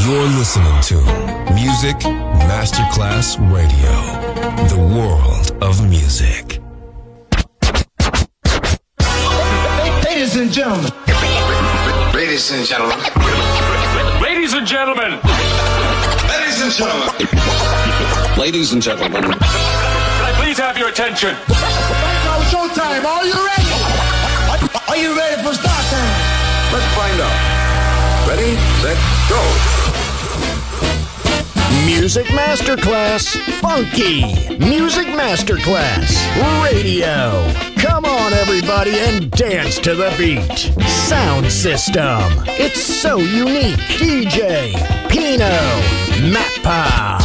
You're listening to Music Masterclass Radio, the world of music. Ladies and gentlemen. Ladies and gentlemen. Ladies and gentlemen. Ladies and gentlemen. Ladies and gentlemen. Can I please have your attention? Now showtime. Are you ready? Are you ready for start time? Let's find out. Ready, set, go. Music Masterclass Funky. Music Masterclass Radio. Come on, everybody, and dance to the beat. Sound system. It's so unique. DJ Pino Mappa.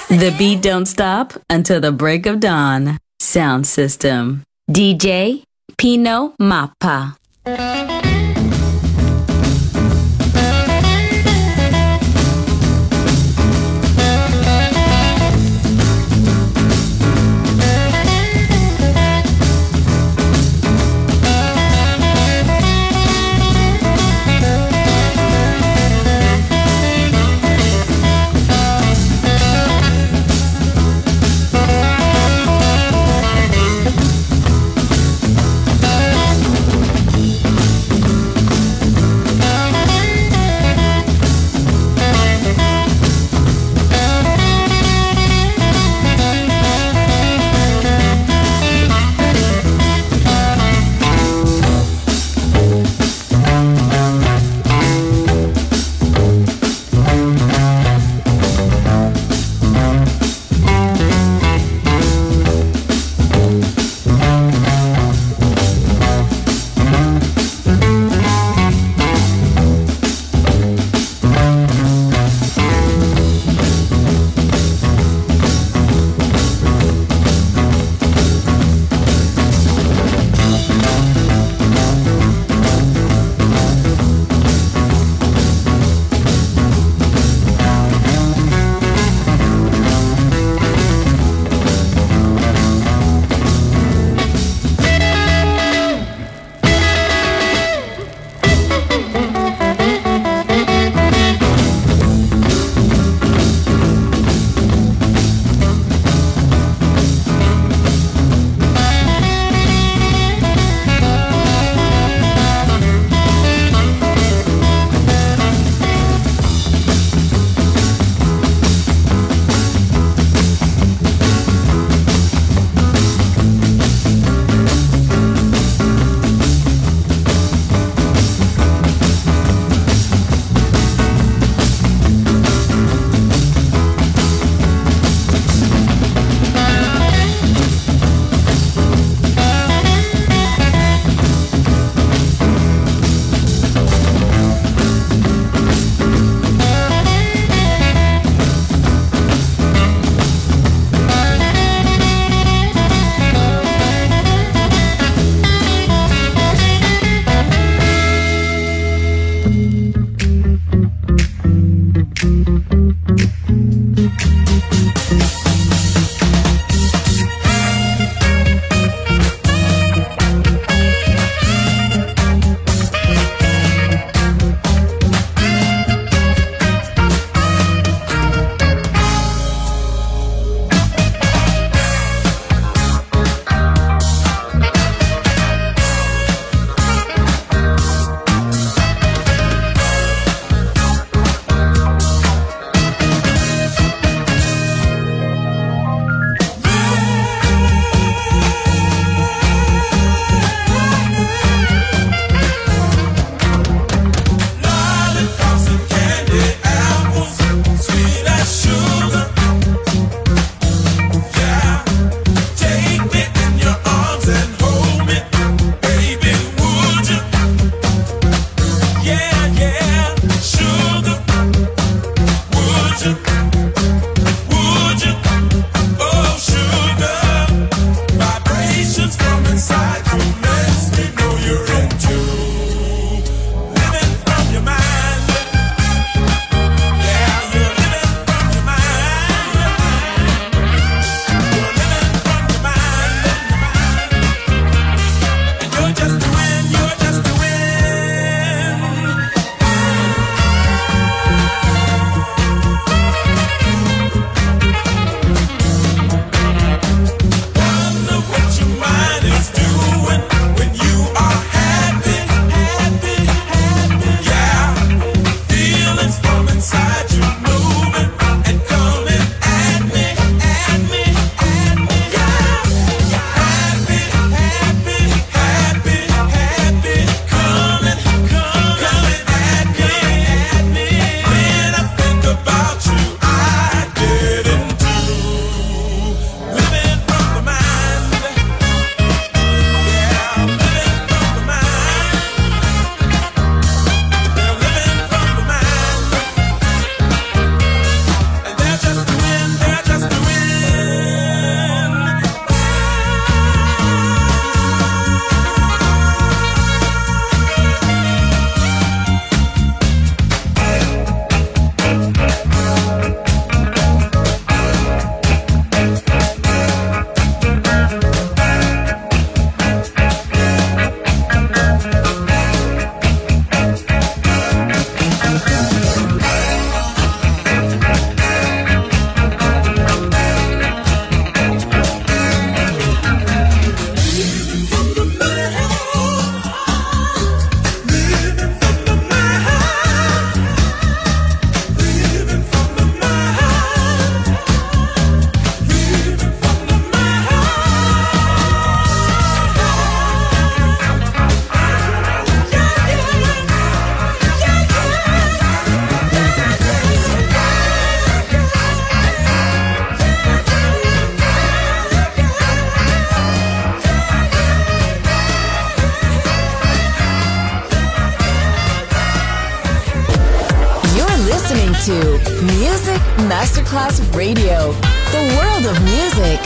The beat don't stop until the break of dawn. Sound system. DJ Pino Mappa. Music Masterclass Radio, the world of music.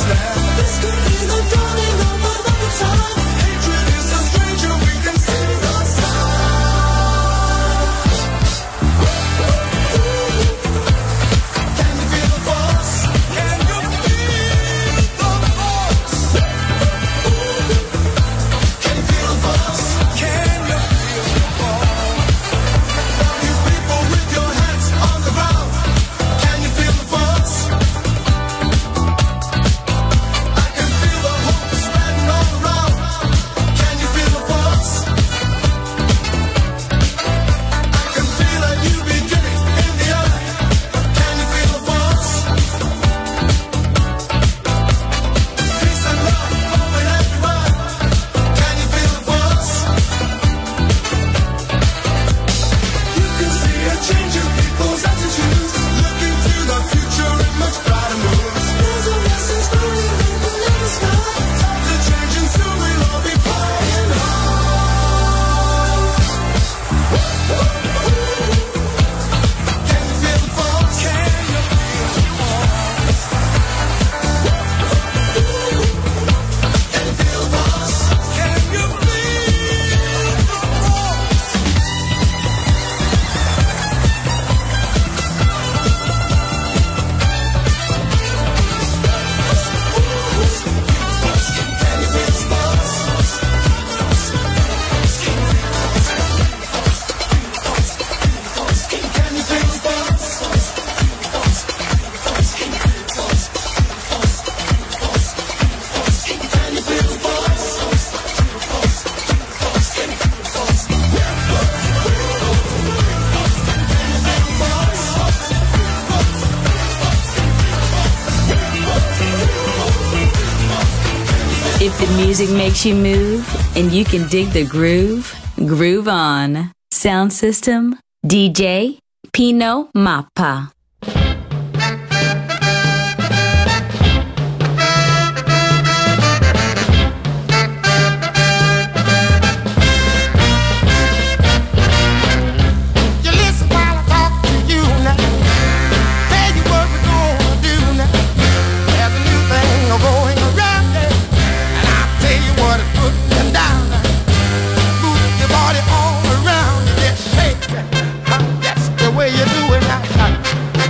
If the music makes you move and you can dig the groove, groove on. Sound system, DJ Pino Mappa. That's the way you do it now.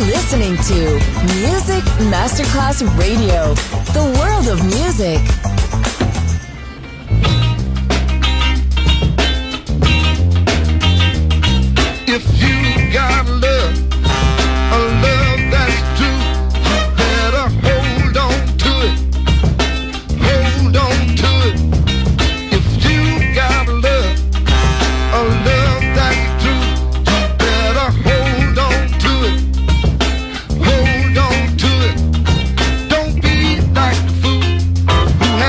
listening to Music Masterclass Radio, the world of music. If you got love, a love that's true, you better hold on to it. Hold on to it. If you got love, a love that's true, you better hold on to it. Hold on to it. Don't be like the fool who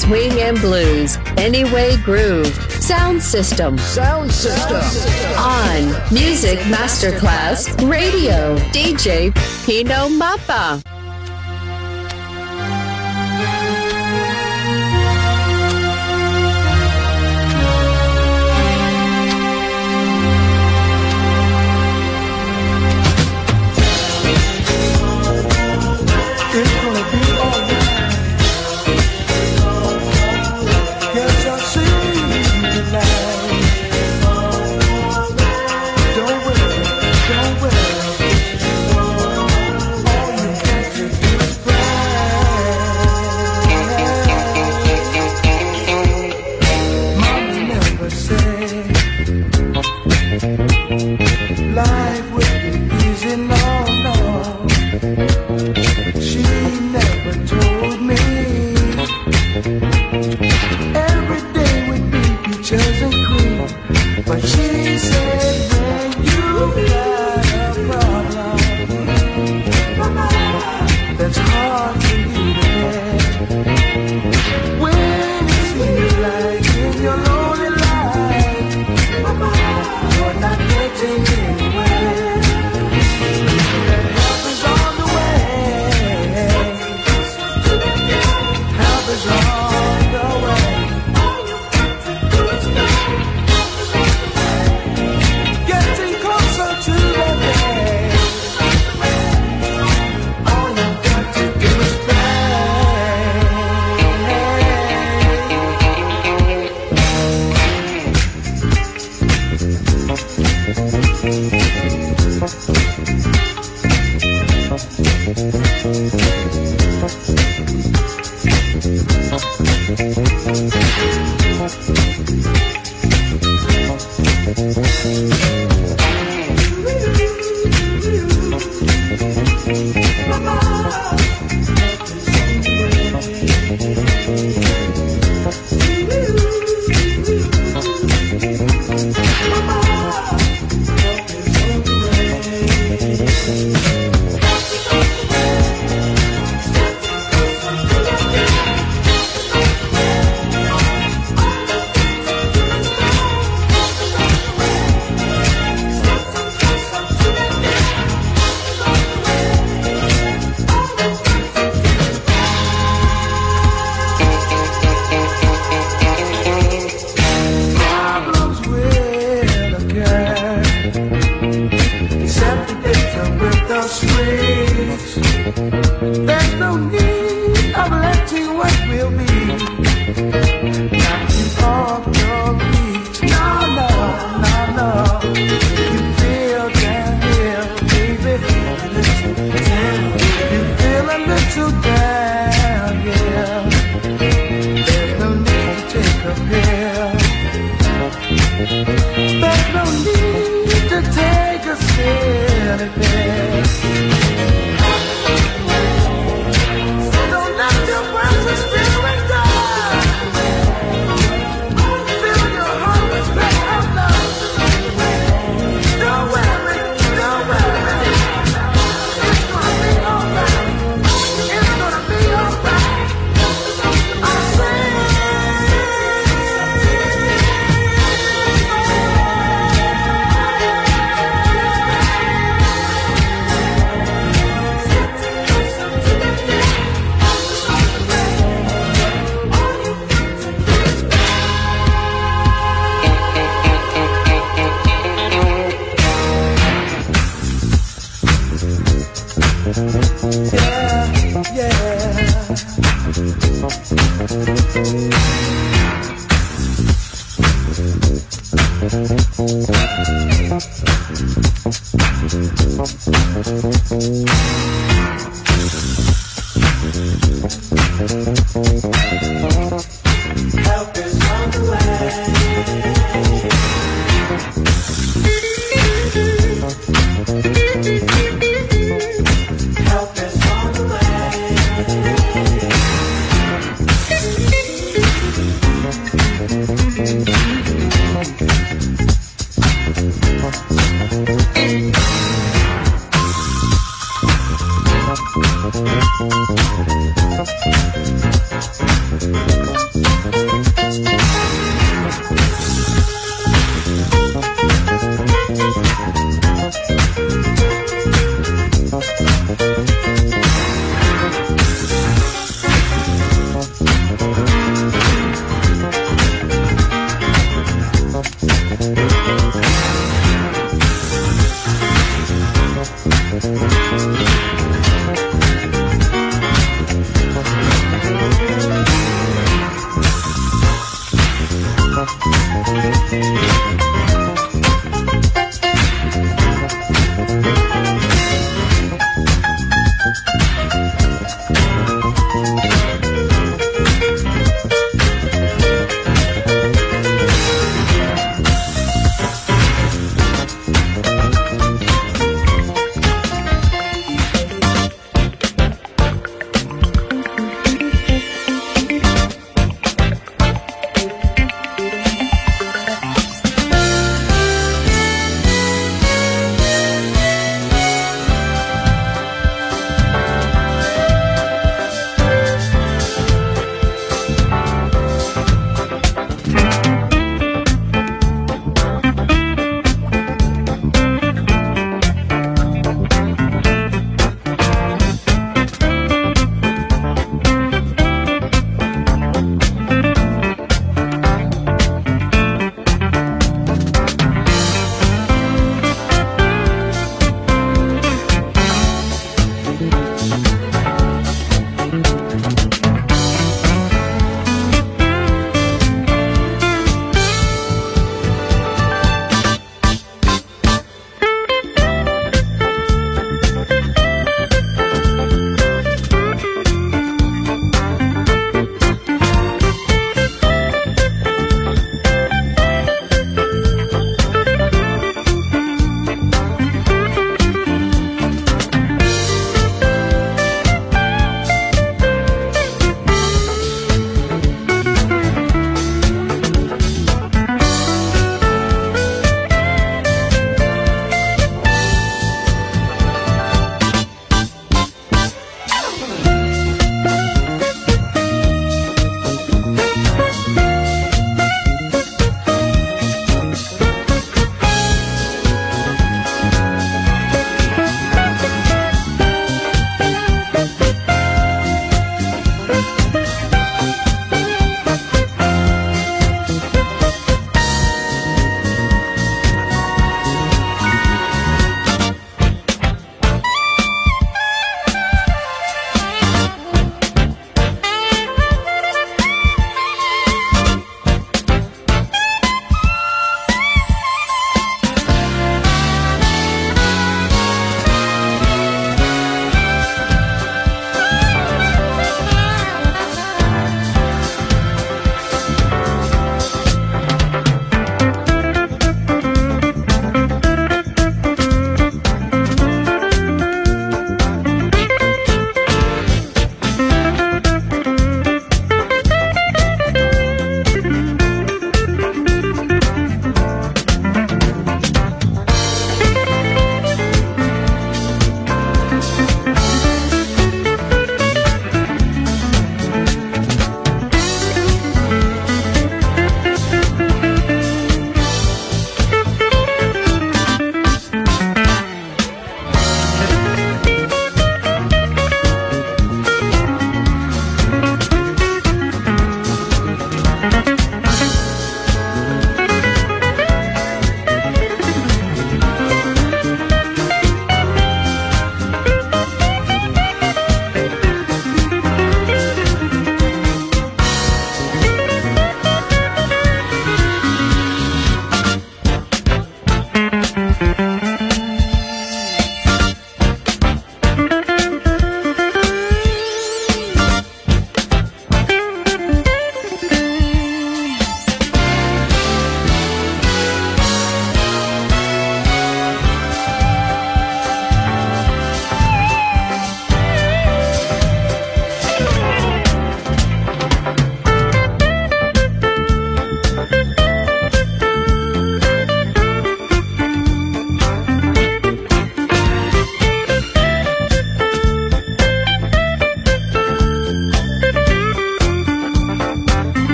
swing and blues. Anyway Groove. Sound System. Sound System. On Music Masterclass Radio. DJ Pino Mappa.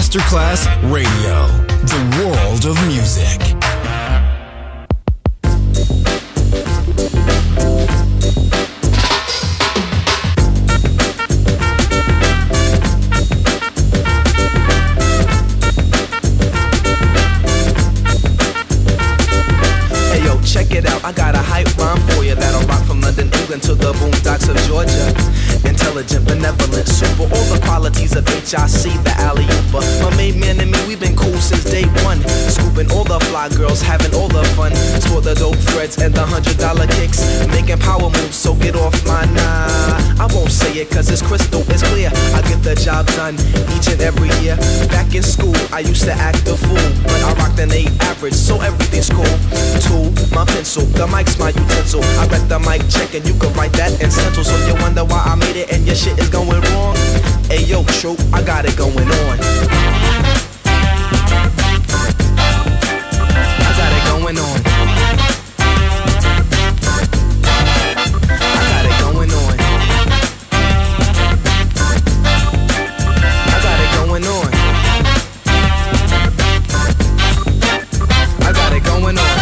Masterclass Radio, the world of music. Hey yo, check it out, I got a hype rhyme for you that'll rock from London, England to the boondocks of Georgia. Intelligent, benevolent, super, all the qualities of HIC, the alley-ooper. My main man and me, we've been cool since day one. Scooping all the fly girls, having all the fun. Sport the dope threads and the $100 kicks. Making power moves, so get off my nah. I won't say it cause it's crystal, it's clear. I get the job done each and every year. Back in school, I used to act a fool, but I rocked an 8 average, so everything's cool. Tool, my pencil, the mic's my utensil. I read the mic check and you can write that in stencil. So you wonder why I made it and your shit is going wrong. Hey yo, troop, I got it going on. I got it going on. I got it going on. I got it going on. I got it going on.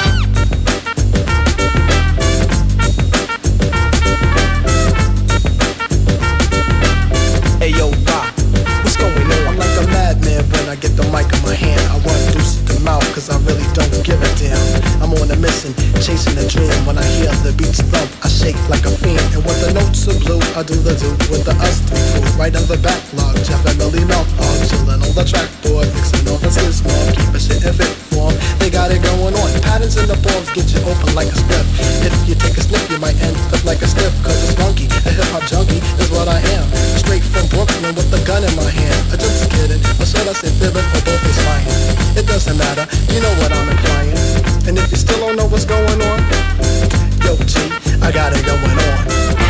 Hey yo, Rock, what's going on? I'm like a madman when I get the mic in my hand. I run deuces to mouth cause I really don't give a damn. I'm on a mission, chasing a dream. When I hear the beats thump, I shake like a fiend. And when the notes are blue, I do the do with the us three crew. Right on the backlog, Jeff and Millie Mouth hog. Chillin' on the trackboard, mixing all the skills small. Keep a shit in fit form, they got it going on. Patterns in the forms get you open like a script. If you take a sniff, you might end up like a stiff. Cause it's funky, a hip-hop junkie is what I am. Straight from Brooklyn with a gun in my hand. I just kidding, or should I say fibbing, or both is fine. It doesn't matter, you know what I'm implying. And if you still don't know what's going on, yo G, I got it going on.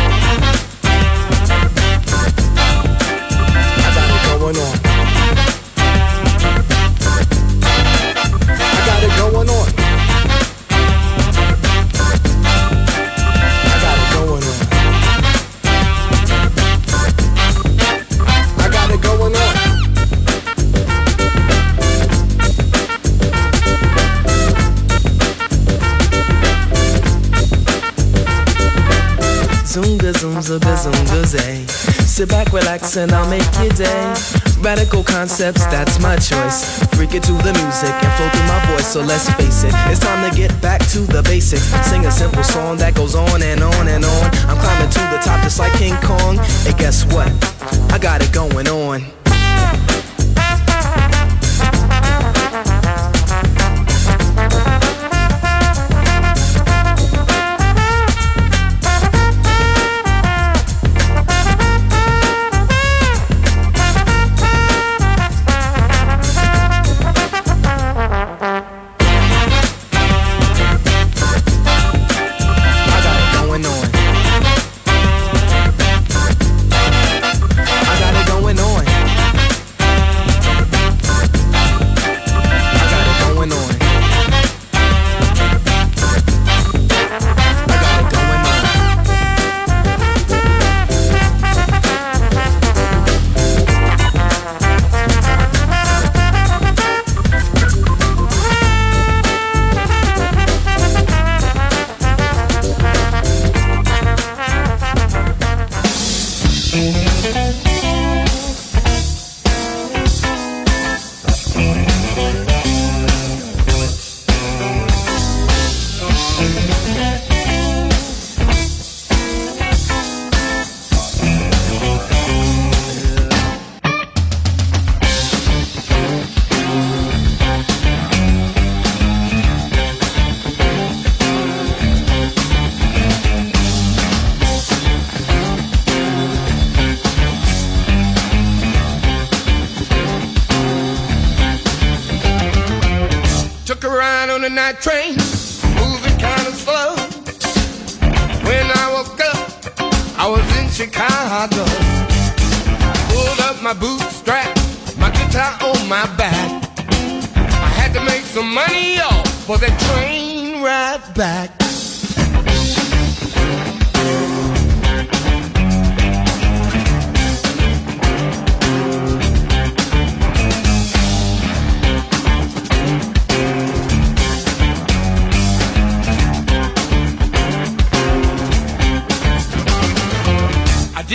I got it going on. I got it going on. I got it going on. I got it going on. Zoomga zoomza bizoomga zay. Sit back, relax, and I'll make your day. Radical concepts, that's my choice. Freak it to the music and flow through my voice. So let's face it, it's time to get back to the basics. Sing a simple song that goes on and on and on. I'm climbing to the top just like King Kong. And guess what? I got it going on. the night train, moving kind of slow. When I woke up, I was in Chicago. Pulled up my bootstrap, my guitar on my back. I had to make some money, y'all, for that train ride back.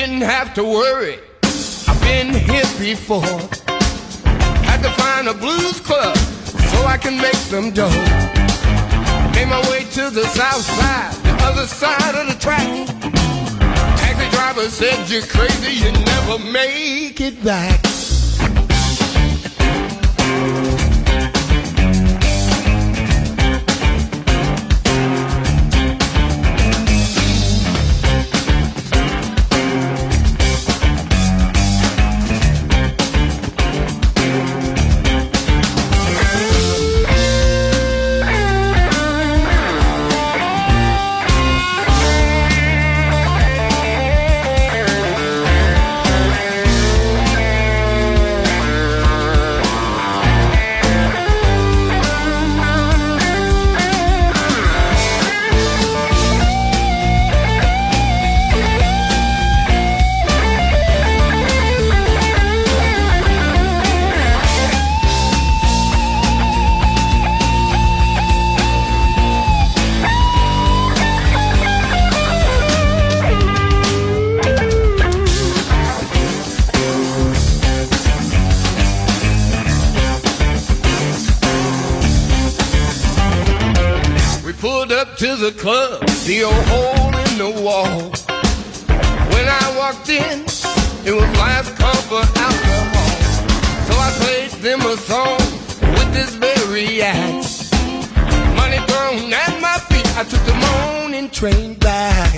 didn't have to worry. I've been here before. Had to find a blues club so I can make some dough. Made my way to the south side, the other side of the track. Taxi driver said, you're crazy, you never make it back. To the club, the old hole in the wall. When I walked in, it was last call for alcohol. So I played them a song with this very act. Money thrown at my feet, I took the morning train back.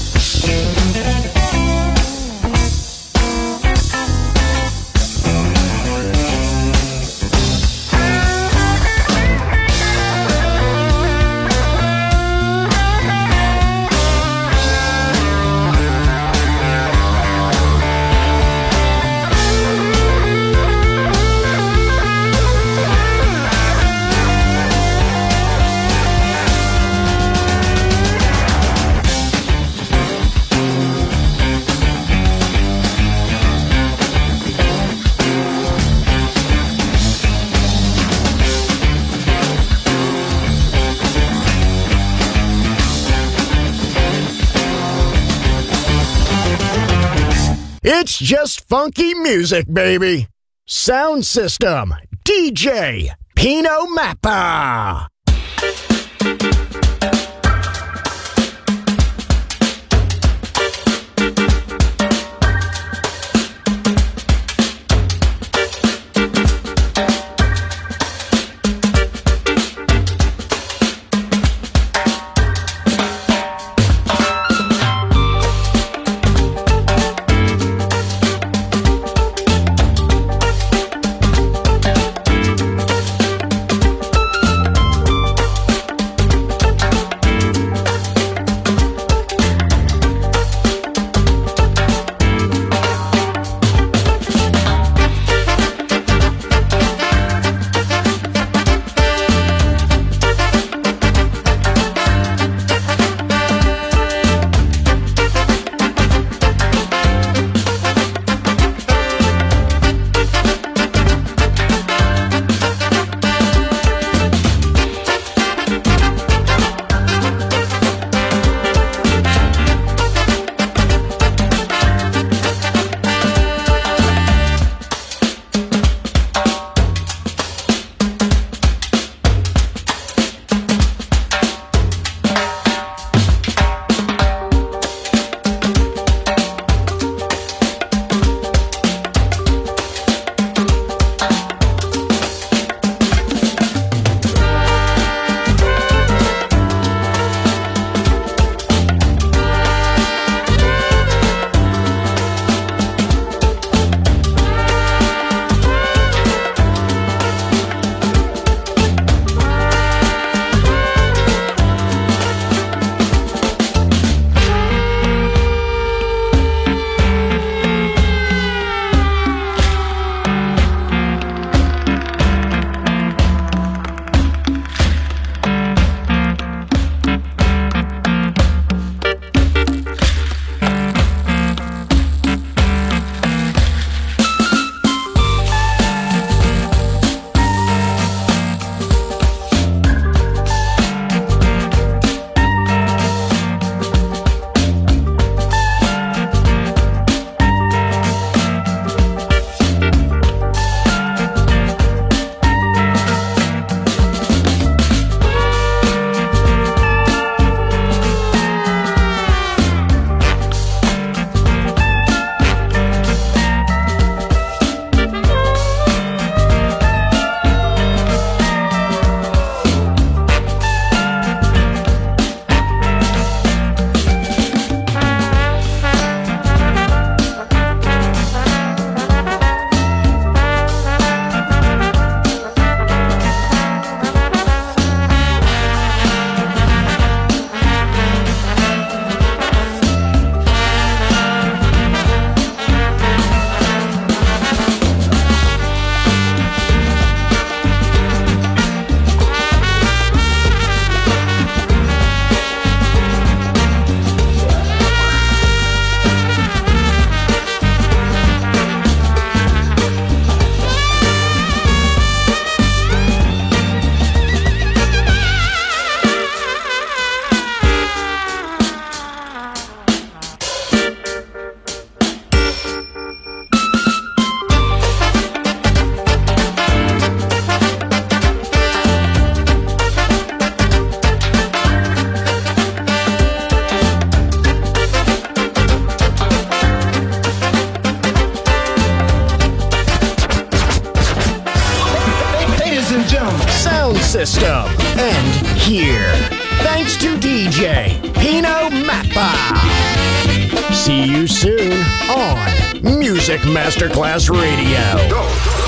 It's just funky music, baby. Sound System, DJ Pino Mappa. DJ Pino Mappa. See you soon on Music Masterclass Radio. Go.